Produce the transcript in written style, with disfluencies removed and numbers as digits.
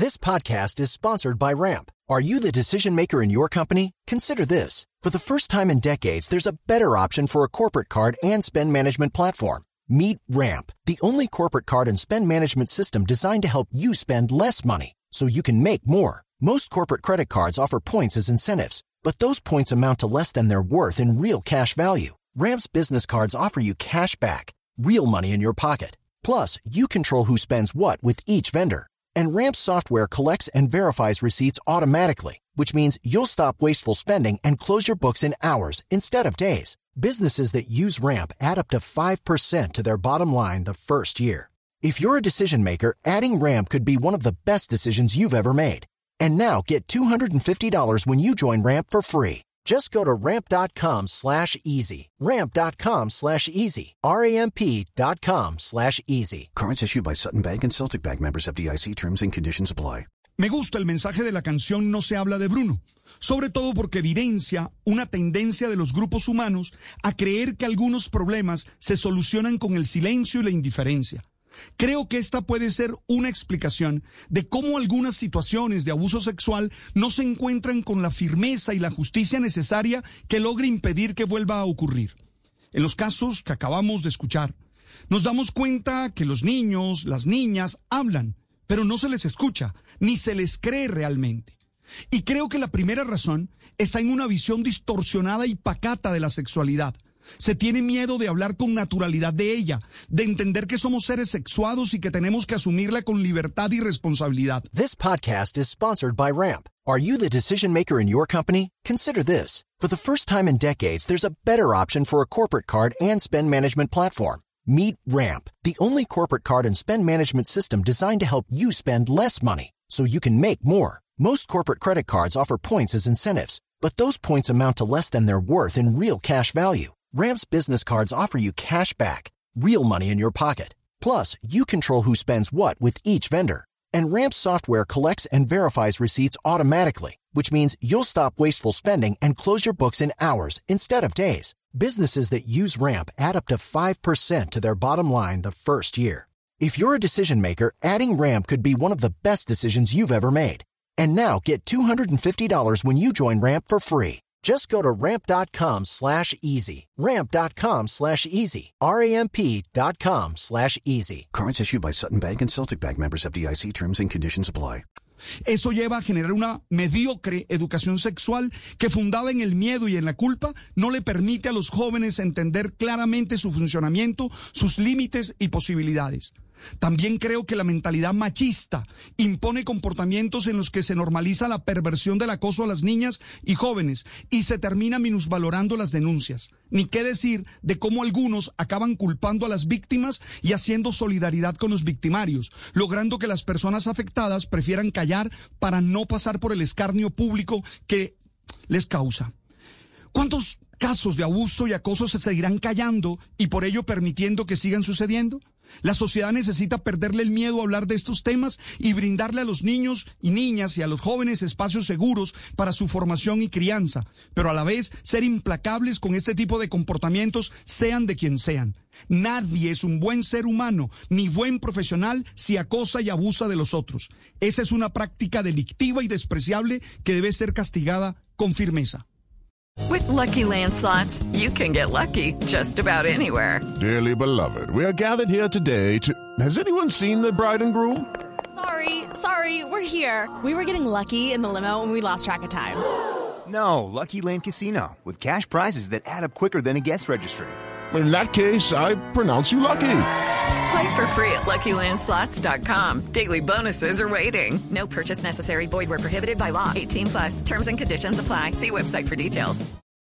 This podcast is sponsored by Ramp. Are you the decision maker in your company? Consider this. For the first time in decades, there's a better option for a corporate card and spend management platform. Meet Ramp, the only corporate card and spend management system designed to help you spend less money so you can make more. Most corporate credit cards offer points as incentives, but those points amount to less than their worth in real cash value. Ramp's business cards offer you cash back, real money in your pocket. Plus, you control who spends what with each vendor. And Ramp software collects and verifies receipts automatically, which means you'll stop wasteful spending and close your books in hours instead of days. Businesses that use Ramp add up to 5% to their bottom line the first year. If you're a decision maker, adding Ramp could be one of the best decisions you've ever made. And now get $250 when you join Ramp for free. Just go to ramp.com/easy. Ramp.com/easy. RAMP.com/easy. Cards issued by Sutton Bank and Celtic Bank, members of FDIC. Terms and conditions apply. Me gusta el mensaje de la canción No se habla de Bruno, sobre todo porque evidencia una tendencia de los grupos humanos a creer que algunos problemas se solucionan con el silencio y la indiferencia. Creo que esta puede ser una explicación de cómo algunas situaciones de abuso sexual no se encuentran con la firmeza y la justicia necesaria que logre impedir que vuelva a ocurrir. En los casos que acabamos de escuchar, nos damos cuenta que los niños, las niñas hablan, pero no se les escucha, ni se les cree realmente. Y creo que la primera razón está en una visión distorsionada y pacata de la sexualidad. Se tiene miedo de hablar con naturalidad de ella, de entender que somos seres sexuados y que tenemos que asumirla con libertad y responsabilidad. This podcast is sponsored by Ramp. Are you the decision maker in your company? Consider this. For the first time in decades, there's a better option for a corporate card and spend management platform. Meet Ramp, the only corporate card and spend management system designed to help you spend less money so you can make more. Most corporate credit cards offer points as incentives, but those points amount to less than their worth in real cash value. Ramp's business cards offer you cash back, real money in your pocket. Plus, you control who spends what with each vendor. And Ramp software collects and verifies receipts automatically, which means you'll stop wasteful spending and close your books in hours instead of days. Businesses that use Ramp add up to 5% to their bottom line the first year. If you're a decision maker, adding Ramp could be one of the best decisions you've ever made. And now get $250 when you join Ramp for free. Just go to ramp.com/easy. Ramp.com/easy. RAMP.com/easy. Cards issued by Sutton Bank and Celtic Bank, members of FDIC. Terms and conditions apply. Eso lleva a generar una mediocre educación sexual que, fundada en el miedo y en la culpa, no le permite a los jóvenes entender claramente su funcionamiento, sus límites y posibilidades. También creo que la mentalidad machista impone comportamientos en los que se normaliza la perversión del acoso a las niñas y jóvenes y se termina minusvalorando las denuncias. Ni qué decir de cómo algunos acaban culpando a las víctimas y haciendo solidaridad con los victimarios, logrando que las personas afectadas prefieran callar para no pasar por el escarnio público que les causa. ¿Cuántos casos de abuso y acoso se seguirán callando y por ello permitiendo que sigan sucediendo? La sociedad necesita perderle el miedo a hablar de estos temas y brindarle a los niños y niñas y a los jóvenes espacios seguros para su formación y crianza, pero a la vez ser implacables con este tipo de comportamientos, sean de quien sean. Nadie es un buen ser humano ni buen profesional si acosa y abusa de los otros. Esa es una práctica delictiva y despreciable que debe ser castigada con firmeza. With Lucky Land Slots, you can get lucky just about anywhere. Dearly beloved, we are gathered here today to... Has anyone seen the bride and groom? Sorry, we're here. We were getting lucky in the limo and we lost track of time. No, Lucky Land Casino, with cash prizes that add up quicker than a guest registry. In that case, I pronounce you lucky. Play for free at LuckyLandSlots.com. Daily bonuses are waiting. No purchase necessary. Void where prohibited by law. 18+. Terms and conditions apply. See website for details.